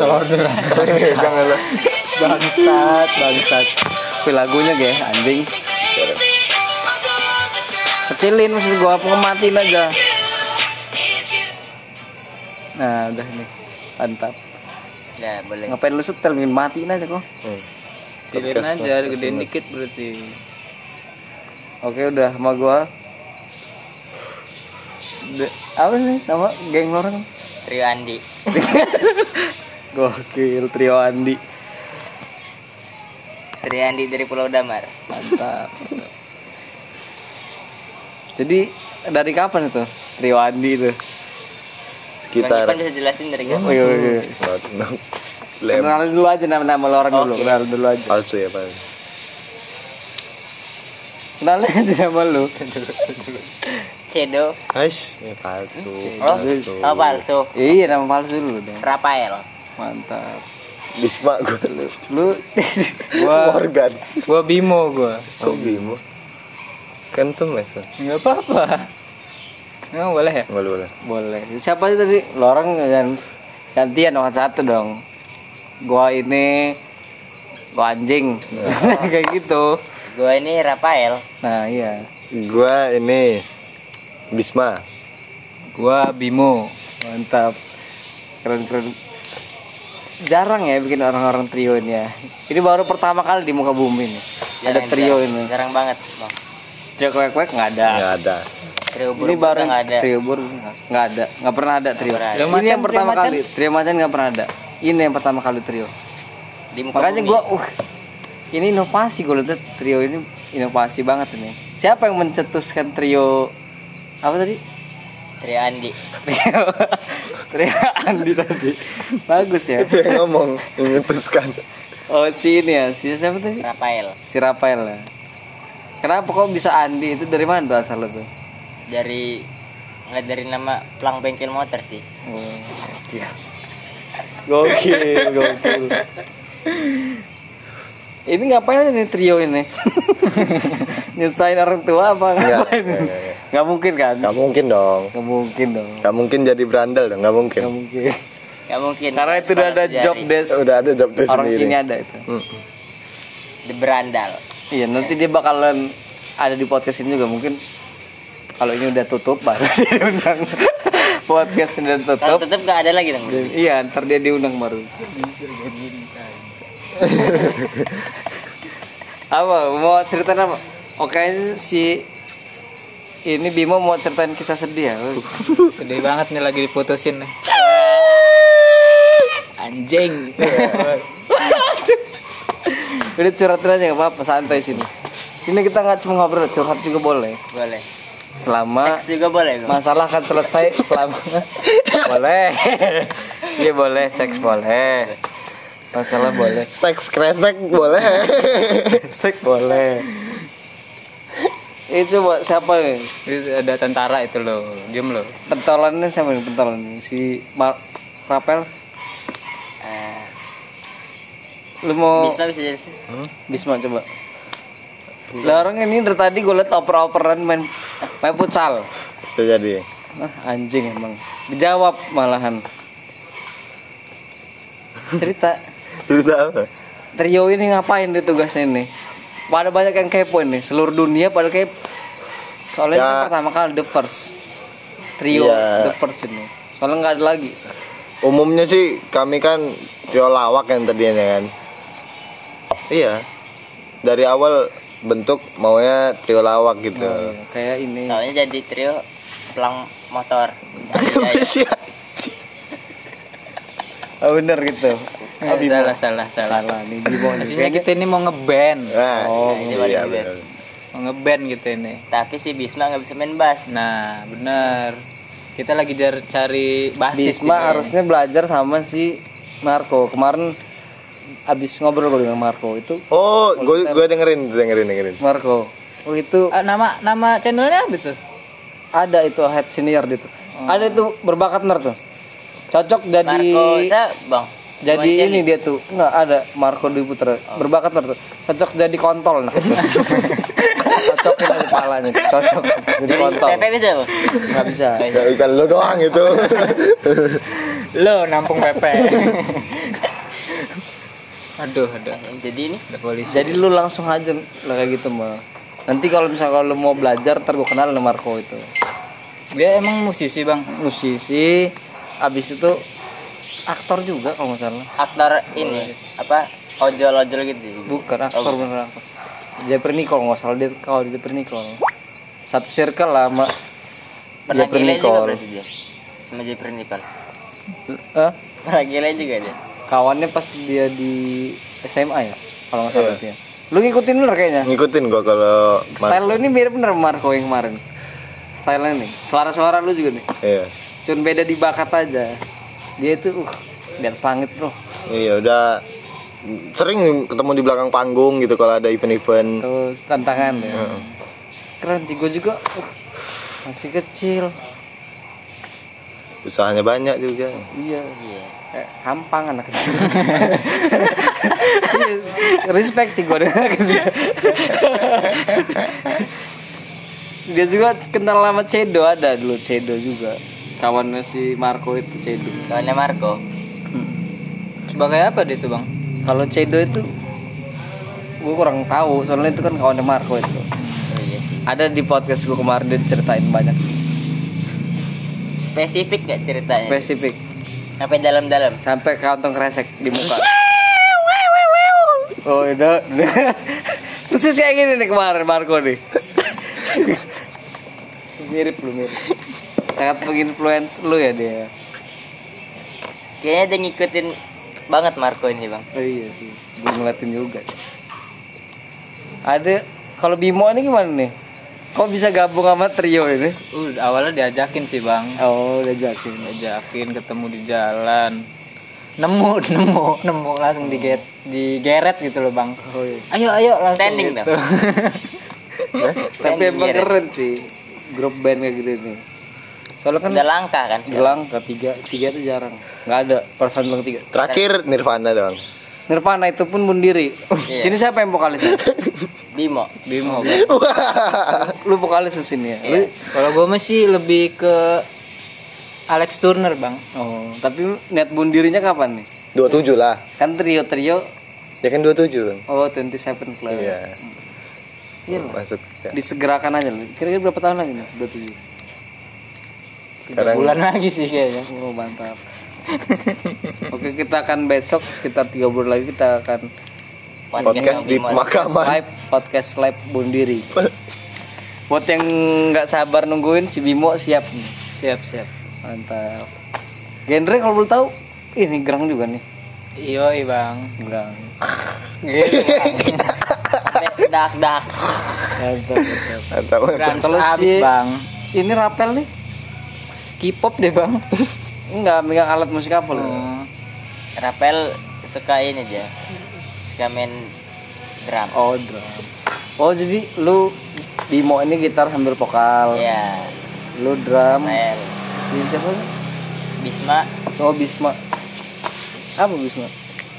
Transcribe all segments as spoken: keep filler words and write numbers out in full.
order. Jangan lah. Bangsat, bangsat. Tapi lagunya ge anjing. Kecilin maksud gua, pengematin aja. Nah, udah nih. Mantap. Ya, boleh. Ngapain lu setel, mungkin matiin aja kok. Hmm. Kecilin aja, gedein dikit berarti. Oke, udah sama gua. De- apa sih nama geng lo orang? Trio Andi. Gokil, trio Andi. Trio Andi dari Pulau Damar. Mantap. Jadi dari kapan itu trio Andi itu? Kita Bang Ipan bisa jelasin dari kapan? Oh iya iya. Lem Kenalin dulu aja nama-nama lo orang dulu, Oke. kenalin dulu aja. palsu ya Pak. Kenalin aja nama lu. Cedo. Ais, ya palsu. Oh, oh palsu. Iya, nama palsu dulu dong. Rafael. Mantap. Bisma gue. Lu Gua Morgan. gua Bimo gua. Kok Bimo? Kan semes. Enggak apa-apa. Emang boleh ya? Boleh boleh. boleh. Siapa sih tadi? Lo orang yang gantian dong satu dong. Gua ini gua anjing. Kayak gitu. Gua ini Rafael. Nah, iya. Gua ini Bisma. Gua Bimo. Mantap. Keren-keren. Jarang ya bikin orang-orang trio ini ya. Ini baru pertama kali di muka bumi nih. Ada Jarang, trio jarang. ini. Jarang banget, Bang. Trio kuek-kuek nggak ada. Enggak ada. Trio Ini Buru-Buru baru nggak ada. trio bur nggak ada, nggak pernah ada trio. pernah ada. Trio Ini macan, yang pertama trio macan. kali. Trio macan nggak pernah ada. Ini yang pertama kali trio. Di muka Makanya bumi. gua, uh, ini inovasi gue lihat trio ini inovasi banget ini. Siapa yang mencetuskan trio apa tadi? Trio Andi. Trio, trio Andi tadi. Bagus ya. Itu yang ngomong, yang memutuskan. Oh si ini ya, si siapa tadi? Rafael. Si Rafael ya. Kenapa kok bisa Andi? Itu dari mana tuh asal tuh? Dari nggak dari nama pelang bengkel motor sih. Oh, gokil. Gokil, gokil. Ini ngapain aja nih trio ini? Nyusahin orang tua apa Enggak, ngapain? enggak, enggak. Nggak mungkin kan? Gak mungkin dong. Nggak mungkin dong. Gak mungkin jadi berandal dong, gak mungkin. Nggak mungkin. Nggak mungkin. Karena itu udah ada Sekolah job sejari. desk. Udah ada job desk Orang sendiri. sini ada itu. Hmm. The Berandal. Iya, nanti dia bakalan ada di podcast ini juga mungkin. Kalau ini udah tutup baru dia diundang. Podcast ini udah Kalau tutup. tetap nggak ada lagi dong. Dan- iya, ntar dia diundang baru. Apa? Mau ceritain apa? Oke si ini Bimo mau ceritain kisah sedih ya. Sedih banget nih lagi diputusin nih. Anjing. Udah curhatin aja nggak apa-apa, santai sini. Sini kita nggak cuma ngobrol, curhat juga boleh. Boleh. Selama Seks juga boleh. Bang. masalah kan selesai selama boleh. Iya boleh, seks boleh. Masalah boleh. Seks kresek boleh. Seks boleh. Itu buat siapa nih? Itu ada tentara itu loh, game loh. Pentolannya siapa nih pentolan? Si Mar- Rapel. Eh, Lu mau Bisma bisa jadi sih. Bisma coba. Lah orang ini dari tadi gue liat oper-operan main main futsal. Bisa jadi. Ah, anjing emang. Dijawab malahan. Cerita Cerita apa? trio ini ngapain di tugasnya ini? Pada banyak yang kepo nih, seluruh dunia pada kepo. Soalnya Ya. ini pertama kali the first trio Iya. the first ini. Soalnya nggak ada lagi. Umumnya sih kami kan trio lawak yang tadinya kan. Iya. Dari awal bentuk maunya trio lawak gitu. Oh, iya. Kayak ini. Soalnya jadi trio pelang motor. Sih. Oh bener gitu. Eh, salah salah salah. Salah nih Bimo nih. Aslinya kita ini mau ngeband, Nah, Oh, ini iya paling benar. mau ngeband gitu ini. Tapi si Bisma nggak bisa main bass. Nah, bener. Kita lagi jar- cari basis Bisma ini. harusnya belajar sama si Marco. Kemarin abis ngobrol gue dengan Marco itu Oh, gue gue dengerin dengerin dengerin. Marco. Oh itu Ah, nama nama channelnya apa tuh? ada itu head senior gitu. Ada itu berbakat bener tuh. Cocok jadi Marco, saya bang. jadi Simon ini dia tuh nggak ada Marco Dwi Putra berbakat bener tuh. Cocok jadi kontol nah itu. Cocokin aja kepalanya. Cocok jadi Jadi kontol. Pepe bisa bang. Nggak bisa. Gak bisa lo doang itu. Lo nampung P P. Aduh, aduh. Jadi ini Ada polisi. Jadi lu langsung aja lah kayak gitu mah. Nanti kalau misalnya kalau lu mau belajar, ntar gue kenal sama Marco itu. Dia emang musisi, Bang. Musisi, abis itu aktor juga kalau nggak salah. aktor ini apa ojol-ojol gitu juga. Bukan aktor Oh, bener aktor. Jeffrey Nicole nggak salah dia kalau di Jeffrey Nicole. Satu circle lah sama pernah Jeffrey gila juga Nicole. berarti dia sama Jeffrey Nicole. Eh, Pernah gila juga dia. kawannya pas dia di S M A ya kalau nggak salah Iya. dia. Lu ngikutin bener kayaknya. Ngikutin gua kalau Style lu ini mirip bener sama Marco yang kemarin. Style-nya nih. Suara-suara lu juga nih. Iya. Cuman beda di bakat aja. Dia itu uh di atas langit, Bro. Iya, udah sering ketemu di belakang panggung gitu kalau ada event-event. Terus tantangan ya. Heeh. Keren sih gue juga. Uh, masih kecil. Usahanya banyak juga. Iya. Iya. Kayak hampang anak kecil. Iya, respect sih gue dengan anak kecil. Dia juga kenal sama Cedo, ada dulu Cedo juga. Kawannya si Marco itu Cedo. Kawannya Marco. Sebagai apa dia tuh, Bang? Kalau Cedo itu gue kurang tahu, soalnya itu kan kawannya Marco itu. Oh iya sih. Ada di podcast gue kemarin dia ceritain banyak Spesifik gak ceritanya? spesifik Sampai dalam-dalam. sampai kantong kresek di muka. Oh itu persis kayak gini nih kemarin Marco nih. Mirip lu mirip. Sangat menginfluence lu ya dia. Kayaknya dia ngikutin banget Marco ini, Bang. Oh iya sih, gue ngeliatin juga. Ada kalau Bimo ini gimana nih? Kok bisa gabung sama trio ini? Uh, awalnya diajakin sih, Bang. Oh udah jakin. Diajakin ketemu di jalan. Nemu, nemu, nemu langsung diget, digeret gitu loh, Bang. Oh iya. Ayo, ayo langsung Standing gitu. dong. Tapi emang Geret. keren sih grup band kayak gitu nih. Soalnya kan Udah langka kan? bilang ketiga tiga itu jarang. Nggak ada perasaan bilang tiga. Terakhir Nirvana doang. Nirvana itu pun bunuh diri. Iya. Sini siapa yang vokalisnya? Bimo. Bimo, Bang. Lu vokalis di sini ya. Lu- Kalau gue masih lebih ke Alex Turner, Bang. Oh, tapi niat bunuh dirinya kapan nih? dua puluh tujuh lah. Kan trio-trio Ya kan dua puluh tujuh. Bang. oh dua puluh tujuh Club. Iya. Iya lah. Masuk. Ya. Disegerakan aja lah. Kira-kira berapa tahun lagi nih? dua puluh tujuh. Sekarang Bulan lagi sih kayaknya. Oh, mantap. Oke, kita akan besok sekitar tiga bulan lagi kita akan podcast di Bimo. pemakaman. live podcast live bunuh diri. Buat yang nggak sabar nungguin si Bimo siap nih. Siap, siap. Mantap. Genre kalau belum tahu ini gerang juga nih. Iyo, Bang. Gerang. Gitu. Sampai dak-dak. Mantap, mantap. Mantap. Trans Kalau abis, si- Bang. Ini rapel nih. K-pop deh, Bang. Enggak megang alat musik apa lu? Hmm. Rapel suka ini aja. Suka main drum. Oh, drum. Oh, jadi lu Bimo ini gitar sambil vokal. Iya. Lu drum. Rapel. Si siapa? nih? Bisma. Oh, Bisma. Apa Bisma?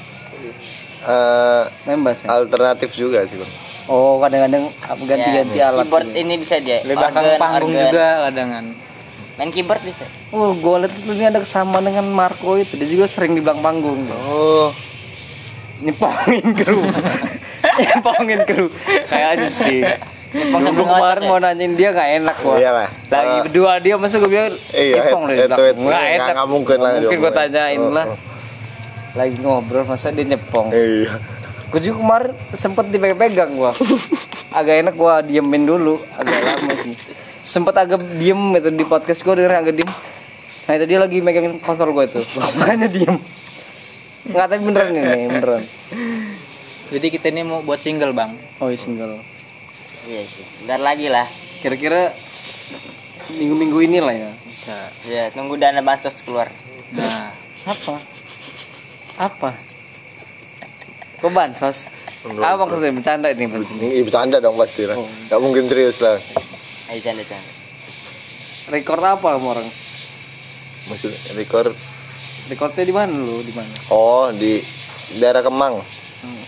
Eh, Main bass ya? alternatif juga sih, Bang. Oh, kadang-kadang ganti-ganti Ya, alat. Keyboard gitu. ini bisa dia. Di belakang Organ, panggung organ. juga kadangan. Main keyboard bisa. Oh, gue lihat tuh ini ada kesamaan dengan Marco itu. Dia juga sering di belakang panggung. Oh, Nyepongin kru. Nyepongin kru. Kayaknya sih. Nyepong Gue sambil kemarin ngoceh. mau nanyain dia gak enak gua. Iya, Pak. Lagi Oh. berdua dia masa gue bilang Iya, nyepong itu- dari itu- belakang. itu Nggak nggak- enak. nggak mungkin lah Mungkin gue diomongin. tanyain Oh, lah. oh. Lagi ngobrol masa dia nyepong. iya. Gue juga kemarin sempet dipegang-pegang gua. Agak enak gua diemin dulu, agak lama sih. Sempet agak diem itu di podcast gua denger agak diem. Nah itu dia lagi megangin kontrol gua itu. Makanya diem. Nggak tapi beneran ini, beneran. Jadi kita ini mau buat single, Bang. Oh iya, single. Iya sih. Bentar lagi lah. Kira-kira minggu-minggu inilah ya. Bisa. Ya, tunggu dana bansos keluar. Nah, Apa? Apa? Kok bansos? Apa maksudnya bercanda ini pasti? Ini bercanda dong pasti lah. Oh. Gak mungkin serius lah. Ayo canda-canda. Record apa sama orang? Maksud record. Recordnya di mana lu? Di mana? Oh, di daerah Kemang. Hmm.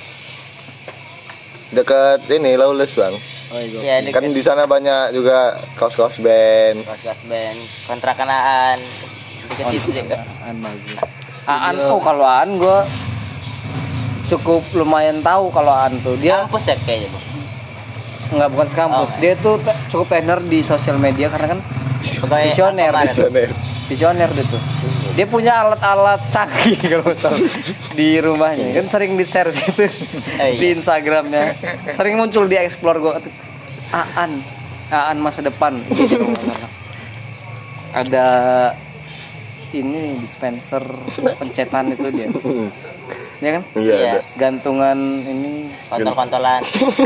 Dekat ini Lawless, Bang. Oh iya. Ya, Kan deket di sana banyak juga kaos-kaos band. kos-kos band, kontrakanaan. Dikasih itu juga. Aan bagus. Aan oh kalau Aan gue cukup lumayan tahu kalau Aan tuh dia Kampus ya kayaknya bang. nggak bukan sekampus. Oh. Dia tuh te- cukup tenar di sosial media karena kan Sebagai visioner. apa, Mar? Visioner. Visioner dia tuh. Dia punya alat-alat canggih kalau nggak salah di rumahnya. Kan sering di-share gitu iya. di Instagramnya. Sering muncul di explore gue. Aan, Aan masa depan. Gitu, kalau nggak salah. Ada ini dispenser pencetan itu dia. Ya kan? Iya. Iya. Ada. Gantungan ini Kontol-kontolan.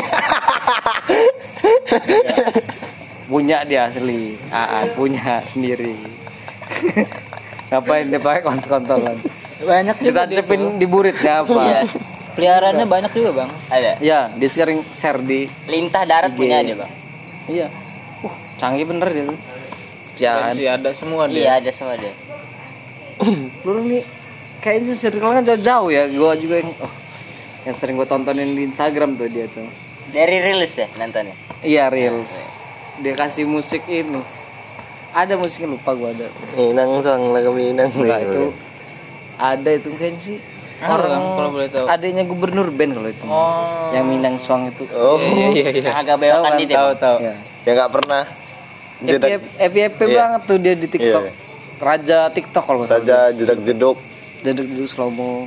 punya dia asli. Aan punya sendiri. Ngapain dia pakai kontol-kontolan? Banyak juga dia Ditancepin tuh. di buritnya apa? Iya. Peliharaannya banyak juga bang. Ada. Ya, dia sering share di Lintah darat I G. punya dia bang. iya. Uh, canggih bener dia tuh. Dan Ya, sih ada semua Iya dia. ada semua dia. lu nih kayaknya circle kan jauh-jauh ya. Gua juga yang oh, yang sering gua tontonin di Instagram tuh dia tuh. Dari rilis ya nontonnya. Iya, reels. Dia kasih musik ini. Ada musiknya lupa gua ada. Minang sang lagu Minang. Enggak itu ada itu kayaknya sih Ah, orang Bang, kalau boleh tahu. adanya gubernur band kalau itu. Oh. Yang Minang Suang itu. Oh, Iya iya iya. Yang agak belokan Tahu gitu. Tahu Bang. tahu. Ya. ya nggak pernah. Jedak, F Y P Iya. banget tuh dia di TikTok. Iya. Raja TikTok kalau nggak salah. Raja jedak jeduk. Jadi dulu slow mo.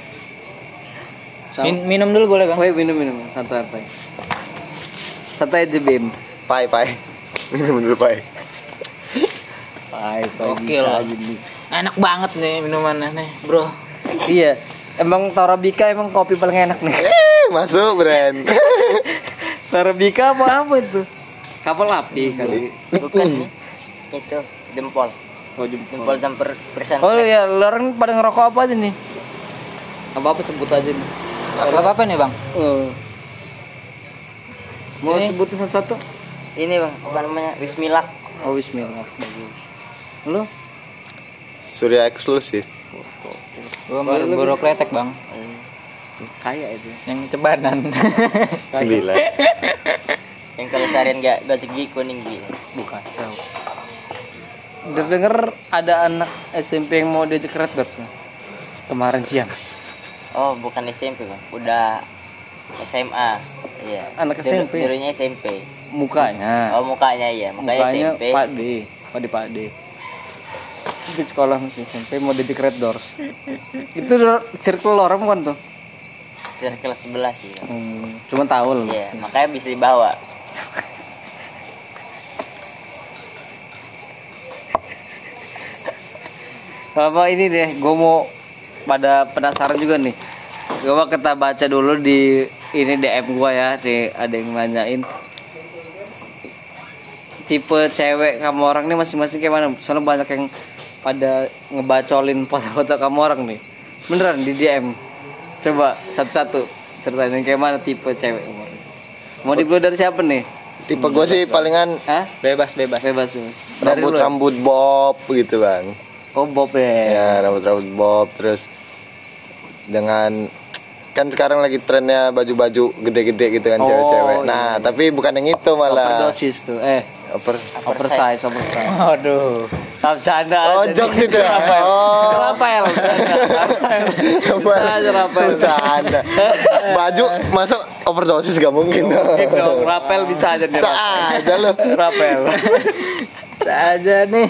Min- minum dulu boleh bang. Woi minum minum santai-santai. Santai aja Bim. Pai pai. Minum dulu pai. Pai pai Oke bisa lah. aja nih. Enak banget nih minumannya nih bro. Iya. Emang Torabika emang kopi paling enak nih. Eh, masuk brand. Torabika apa apa itu? Kapal api kali. Bukan nih. Itu jempol. Oh jempol. Jempol campur persen. Oh iya, lu orang pada ngerokok apa aja nih? Apa apa sebut aja nih. Gak apa-apa nih bang. Oh. Mau Ini. sebutin satu? Ini bang apa namanya Wismilak. Oh Bismillah, bagus. Lu? Surya eksklusif. Gue baru baru kretek bang. Kaya itu. Yang cebanan. Sembilan. Yang kalau seharian gak gocek gigi kuning gitu. Bukan kacau. Udah denger ada anak S M P yang mau diajak red Doors ya? Kemarin siang. Oh bukan S M P bang. Udah S M A. Iya. Anak S M P? Dulunya S M P. Mukanya. Oh mukanya iya. Mukanya, Mukanya S M P. Pak D. Pak D Pak D. Di sekolah masih S M P mau diajak red Doors. Itu circle orang bukan tuh? Circle sebelas sih. Bang. Hmm, cuma tahu loh. Iya. Makanya bisa dibawa. Apa ini deh, gue mau pada penasaran juga nih. Gue mau kita baca dulu di ini D M gue ya, nih ada yang nanyain tipe cewek kamu orang nih masing-masing kayak mana? Soalnya banyak yang pada ngebacolin foto-foto kamu orang nih. Beneran di D M. Coba satu-satu ceritain yang kayak mana tipe cewek kamu orang. Mau dibeli dari siapa nih? Tipe gue sih palingan Hah? Bebas bebas. Bebas bebas. Dari lu. rambut-rambut bob gitu bang. Oh Bob ya. Ya rambut-rambut bob terus dengan kan sekarang lagi trennya baju-baju gede-gede gitu kan Oh, cewek-cewek. iya, Nah iya. tapi bukan yang itu malah. Overdosis tuh. Eh, Over. oversize, oversize. Waduh. Tak bercanda Oh aja jokes nih. itu ya. Oh. Rapel, bercanda. Rapel. Bisa aja Rapel. Bercanda. Baju masuk overdosis gak mungkin Mungkin dong, dong. Rapel bisa aja nih. Seaja lo. Rapel. Saja nih.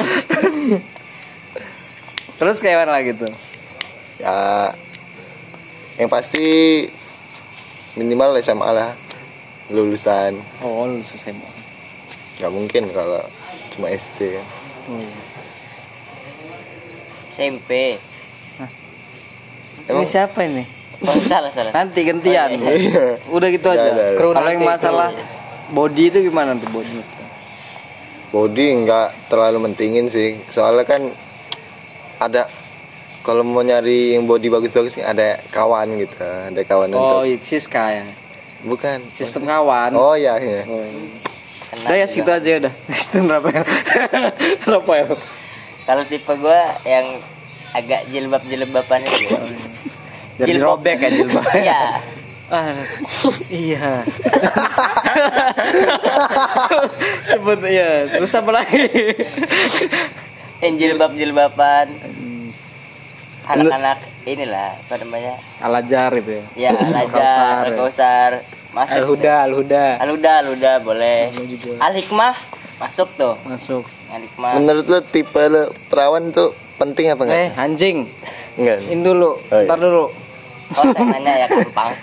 Terus kayak mana lagi tuh? Ya yang pasti minimal S M A lah lulusan. Oh, lu S M A. Gak mungkin kalau cuma S D. Oh, iya. S M P. Emang- Ini siapa ini? Oh, salah salah. Nanti gantian. Oh, iya, iya. Udah gitu Udah, aja. udah, udah. Kalau yang Nanti, masalah body itu gimana tuh body? Body nggak terlalu mentingin sih. Soalnya kan ada kalau mau nyari yang body bagus-bagus kan ada kawan gitu. Ada kawan Oh, untuk iya, Siska ya. bukan Sistem kawan. Oh iya iya. Oh, iya. Kena Udah ya juga. situ aja udah. Sistem Rapel. Rapel. Kalau tipe gue yang agak jilbab-jilbaban itu. Jadi Jilbab. robek ya jilbab. Iya. Ah, iya. Sebut iya. Terus apa lagi? yang jilbab-jilbaban. Anak-anak inilah apa namanya? Al-Azhar itu ya. Ya, Al-Azhar, Al-Kausar. Masuk. Al-Huda, Al-Huda. Al-Huda, Al-Huda boleh. Al-Hikmah masuk tuh. Masuk. Al-Hikmah. Menurut lo tipe lo perawan tuh penting apa enggak? Eh, anjing. Enggak. Ini dulu. Oh, iya. Ntar dulu. Oh, saya nanya ya gampang.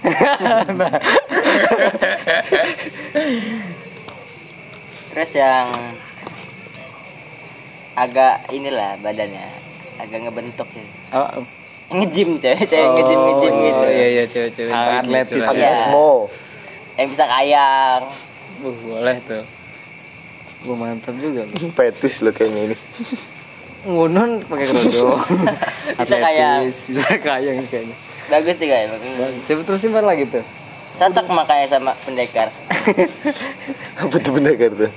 Terus yang agak inilah badannya agak ngebentuk gitu. Oh, Nge-gym cewek, cewek nge-gym nge-gym Oh, gitu. iya iya cewek-cewek Ah, banget atletis. gitu lah. Iya. Asmo. Yang bisa kayang. Uh, boleh tuh. gue mantap juga lu. Petis lo kayaknya ini. Ngunun pakai kerudung. Bisa kayang. Atletis, bisa kayang kayaknya. Bagus sih kayak. Siapa terus simpan lagi tuh? Cocok makanya sama pendekar. Apa tuh pendekar tuh?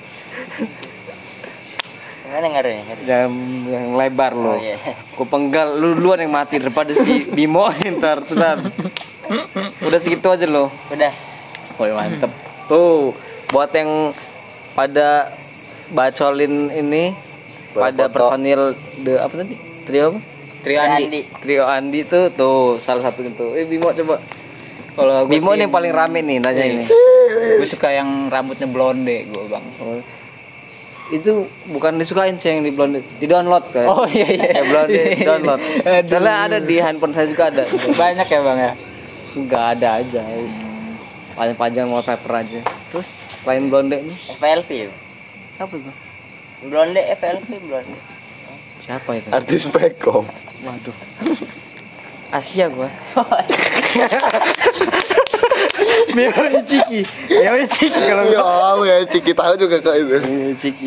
Gimana ngaruhnya? Yang yang lebar lo. Oh iya. Gue penggal lu duluan yang mati daripada si Bimo ntar ntar. Udah segitu aja lo. Udah. Oh mantep. Tuh buat yang pada bacolin ini Buat pada foto. personil the apa tadi? Trio apa? Trio Andi. Trio Andi tuh tuh salah satu itu. Eh Bimo coba. Kalau gue Bimo sih nih yang paling rame nih nanya Iya. ini. Gue suka yang rambutnya blonde gue bang. Oh. Itu bukan disukain sih yang di blonde, di download kan? Oh iya iya. Eh, blonde di download. Aduh. Soalnya ada di handphone saya juga ada. Banyak ya bang ya. Enggak ada aja. Panjang-panjang wallpaper aja. Terus selain blonde nih F L V. apa tuh? Blonde F L V blonde. Siapa itu? Artis Pekom. Waduh. Asia gua. Mio Ichiki. Mio Ichiki kalau Ya, ya Ciki tahu juga kok itu. Mio Ichiki.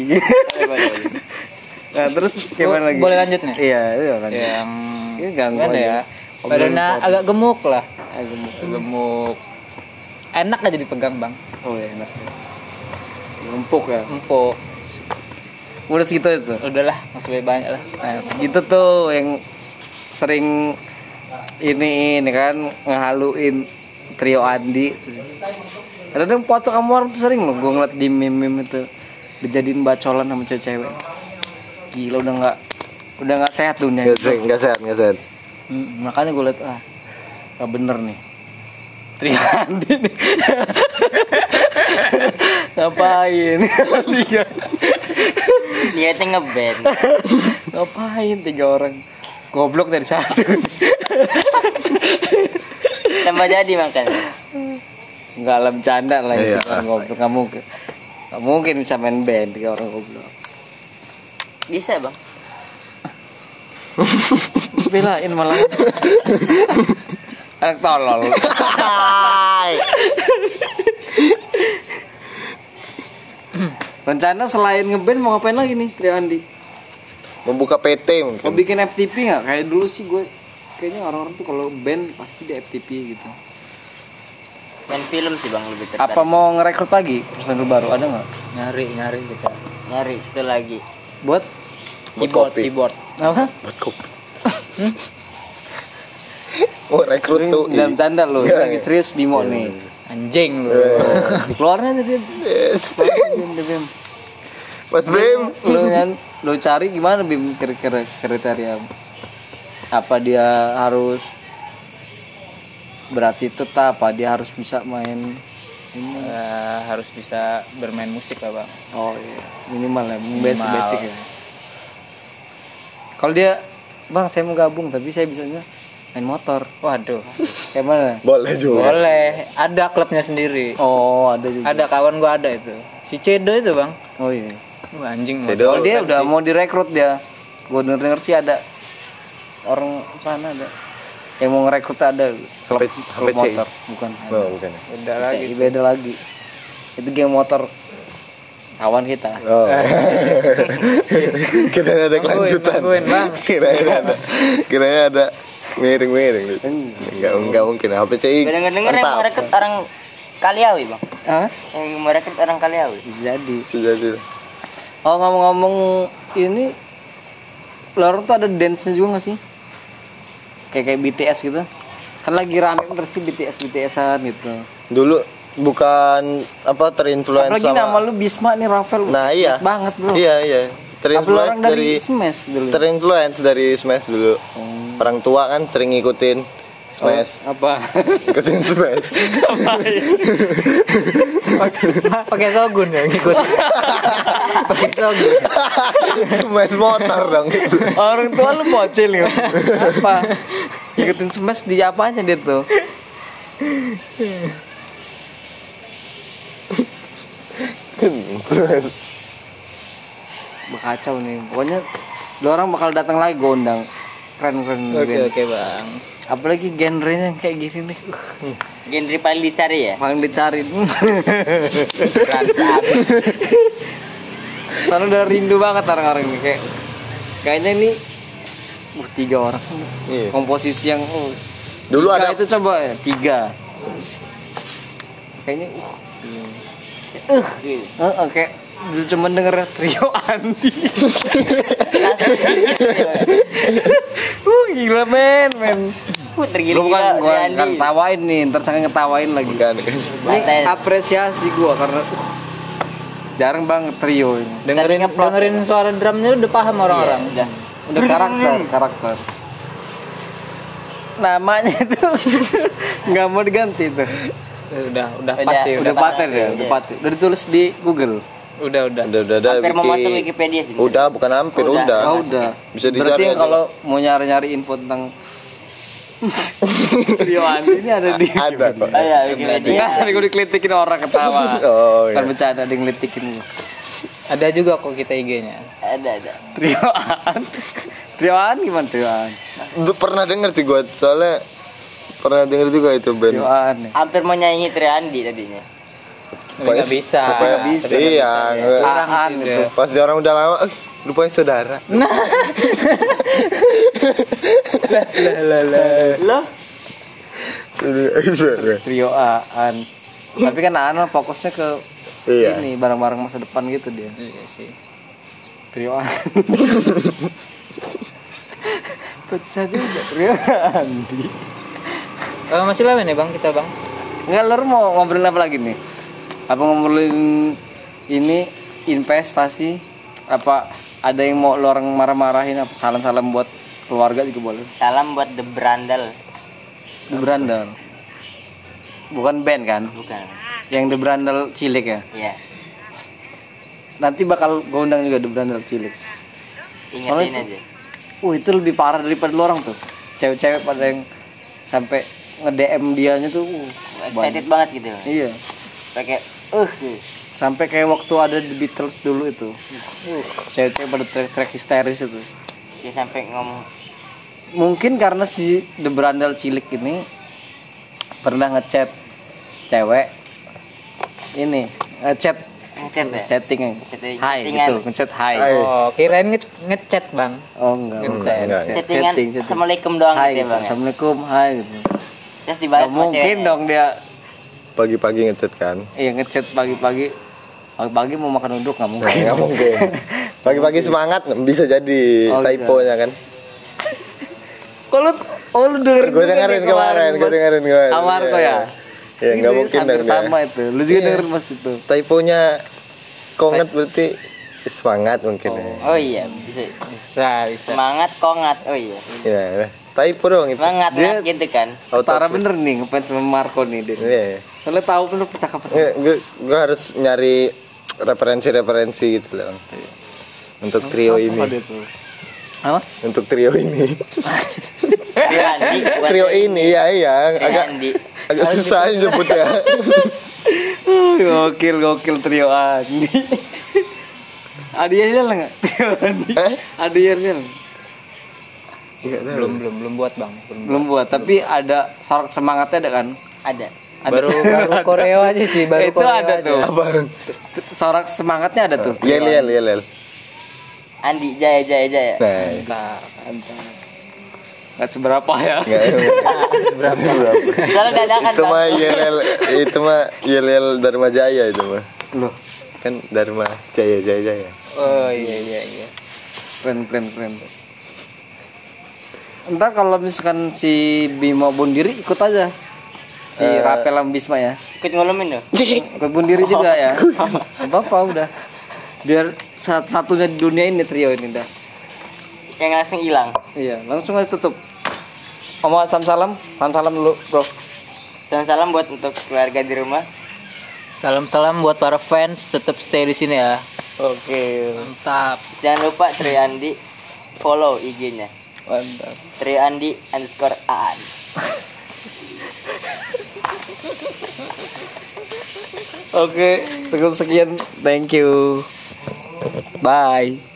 Nah, terus gimana lagi? Boleh lanjut nih? Iya, iya kan. Yang Ini ganggu gimana aja. ya? Obrolan Badannya pot. agak gemuk lah. Ah, gemuk. Gemuk. Enak aja dipegang bang. Oh iya enak. Empuk ya. Empuk. Udah segitu itu. Udahlah, masih banyak lah. Nah, segitu tuh yang sering ini ini kan ngehaluin trio Andi. Kadang foto kamu orang tuh sering loh gue ngeliat di meme-meme itu dijadiin bacolan sama cewek-cewek. Gila udah nggak udah nggak sehat dunia. Enggak sehat, enggak sehat, enggak sehat. Hmm, makanya gue liat ah nggak bener nih. Trio Andi nih. Ngapain? Tiga. Niatnya ngeband. Ngapain tiga orang? Goblok dari satu. Tambah jadi makan. Enggak lah bercanda lah itu Iya. kan goblok kamu. Gak mungkin bisa main band tiga orang goblok. Bisa bang. Belain malah. Anak tolol. Hai. Rencana selain ngeband mau ngapain lagi nih Trio Andi? Membuka P T Mau mungkin. bikin F T P nggak? Kayak dulu sih gue kayaknya orang-orang tuh kalau band pasti di F T P gitu. Main film sih bang lebih tertarik. Apa mau ngerekrut lagi personil baru ada nggak? Nyari nyari kita. Nyari situ lagi. Buat Buat Keyboard kopi. keyboard. apa? Buat kopi. Mau rekrut tuh. Dalam canda lo, Nggak, lagi ya. serius Bimo nih. Anjing lu. Keluarnya jadi Yes. Bim, Bim. Mas Bim. Lu yang lu cari gimana Bim kira-kira kriteria apa dia harus berarti tetap apa dia harus bisa main ini Eh, harus bisa bermain musik lah bang. oh iya minimal ya basic Minimal. basic ya kalau dia bang saya mau gabung tapi saya bisanya main motor Waduh. kayak mana Boleh juga. Boleh. Ada klubnya sendiri. oh ada juga Ada kawan gua ada itu. Si Cedo itu bang. oh iya Wah, anjing. Cedo. kalau dia Pensi. udah mau direkrut dia gua denger denger sih ada orang sana ada yang mau ngerekrut ada klub, H P- klub H P C. motor bukan Oh, bukan. Udah lagi. lagi beda lagi itu geng motor kawan kita Oh. Kirain ada Tungguin, kelanjutan. tungguin, Bang. Kirain ada. Kirain ada miring-miring. Enggak enggak mungkin. H P C I. Dengar-dengar yang mantap. merekrut orang Kaliawi bang. Hah? Yang merekrut orang Kaliawi. Bisa jadi Sejati. oh ngomong-ngomong ini luar tuh ada dance nya juga gak sih kayak kayak B T S gitu kan lagi rame bener sih B T S B T S-an gitu Dulu bukan apa terinfluence apalagi sama nama lu Bisma nih Rafael Nah iya. Yes banget bro Iya iya. terinfluence orang dari dari Smash dulu. terinfluence dari Smash dulu. Orang tua kan sering ngikutin Smash. Oh, apa? Ikutin Smash. Pakai Shogun ya ngikut. Pakai Shogun. Smash motor dong itu. Orang tua lu bocil ya. Apa? Ikutin Smash di apanya dia tuh? Smash. Kacau nih. Pokoknya dua orang bakal datang lagi gue undang. Keren-keren. Oke oke bang. Apalagi genrenya kayak gini nih. Genre paling dicari ya. Paling dicari. Ransat. Soalnya udah rindu banget orang-orang ini kayak kayaknya ini uh tiga orang. Iya. Komposisi yang uh, Dulu tiga ada itu coba ya, tiga. Kayaknya uh uh, uh, uh kayak dulu cuma denger trio Andi. uh gila men men. Uh, Lu tergila-gila bukan gua Andi. kan tawain nih, ntar saya ngetawain lagi. kan kan. Ini apresiasi gua karena uh, jarang banget trio ini. Dengerin dengerin suara drumnya udah paham orang-orang. Udah, udah karakter, karakter. Namanya itu nggak mau diganti tuh. Udah udah Udah, pas sih, Udah udah paten ya, iya. udah paten. Udah ditulis di Google. udah udah. Udah udah udah Hampir mau masuk bikin. Wikipedia sih. Udah bukan hampir Udah. udah. Oh, udah. Bisa Berarti dicari aja. kalau mau nyari-nyari info tentang trio Andi ini ada di Ada kok. Oh ya Wikipedia. Enggak, gue dikelitikin orang ketawa. Oh Kan iya. bercanda ada yang ngelitikin gua. Ada juga kok kita I G-nya. Ada ada. Trioan. Trioan gimana trioan? Duh, pernah denger sih gua soalnya pernah denger juga itu band. Trioan. Ya. Hampir mau nyanyi Trio Andi tadinya. Tapi nggak bisa. Rupanya Nggak bisa. Iya, nggak- Kurang Aan sih itu. udah. pas dia orang udah lama, eh, rupanya saudara. Nah. lah lah lah. Lo? Saudara. Trioan. Tapi kan Aan fokusnya ke Iya. ini barang-barang masa depan gitu dia. Iya sih. Trioan. Pecah juga Trioan. Eh, masih lama nih bang kita bang. Enggak, lu mau ngobrolin apa lagi nih? Apa ngobrolin ini investasi? Apa ada yang mau lu orang marah-marahin? Apa salam-salam buat keluarga juga boleh? Salam buat The Brandal. The Brandal. Bukan band kan? Bukan. Yang The Brandal cilik ya. Iya. Nanti bakal gue undang juga The Brandal cilik. Ingetin Soalnya aja. Uh itu lebih parah daripada lu orang tuh. Cewek-cewek pada yang sampai nge-D M dianya tuh. Uh, Excited banget gitu. Iya. Pakai uh Sampai kayak waktu ada The Beatles dulu itu. Uh, cewek-cewek pada track-track histeris itu. dia sampai ngomong Mungkin karena si The Brandal cilik ini pernah ngechat cewek ini ngechat ngechat ya. chatting Chatting- hai chattingan. gitu ngechat hai Hai. Oh kirain nge ngechat bang. oh enggak Enggak, bukan. enggak. Chat- Chattingan chatting, chatting. Assalamualaikum doang hai gitu ya gitu. bang ya? Assalamualaikum hai gitu Terus dibalas nggak sama mungkin ceweknya. dong dia Pagi-pagi ngechat kan. iya ngechat pagi-pagi pagi-pagi mau makan uduk nggak Nah, mungkin nggak mungkin. Pagi-pagi semangat bisa jadi Oh, typo-nya kan. kok lu oh lu dengerin Gue juga dengerin nih kemarin, gue Mas dengerin kemarin. Amarko Iya, ya iya. Ya nggak Ini mungkin hampir dong dia. sama itu lu juga Iya. dengerin mas itu Typonya konget berarti semangat mungkin ya. Oh iya bisa Bisa bisa. semangat kongat. Oh iya Ya, typo dong itu. semangat Dia- ngat gitu kan. Tara Autoplay. bener nih ngefans sama Marco nih dia Iya. soalnya tahu bener percakapan Nggak, gue gue harus nyari referensi-referensi gitu loh. Untuk trio ini. Apa dia tuh? Apa? Untuk trio ini. Trio Andi bukan Trio ini ya iya Trio agak Andi. agak susah nyebutnya. gokil gokil trio Andi. Adi Yel nggak? Trio Andi. Eh? Adi Yel Nggak tahu. Belum belum belum buat bang. Belum. belum buat tapi ada sorak semangatnya ada kan? Ada. Ada. Baru baru koreo aja sih baru Itu koreo ada aja. tuh. Apa? Sorak semangatnya ada tuh. Yel yel yel yel. Andi Jaya Jaya Jaya. Nah, Nah, nggak seberapa ya. nggak Berapa? Soalnya dadakan itu mah Bang. yel yel itu mah yel yel Dharma Jaya itu mah. Loh, Kan Dharma Jaya Jaya Jaya. Oh iya iya iya. keren keren keren. Ntar kalau misalkan si Bimo Bundiri ikut aja. Si Eh. Rapel sama Bisma ya. Ikut ngolomin loh. Ikut Bundiri juga ya. Apa apa udah. Biar satu-satunya di dunia ini trio ini dah. Yang langsung hilang. Iya, langsung aja tutup. Omong salam salam, salam salam dulu, bro. Salam-salam buat untuk keluarga di rumah. Salam-salam buat para fans, tetap stay di sini ya. Oke, Mantap. Jangan lupa Trio Andi follow I G-nya. mantap. Trio Andi underscore Aan. Oke, cukup sekian. Thank you. Bye.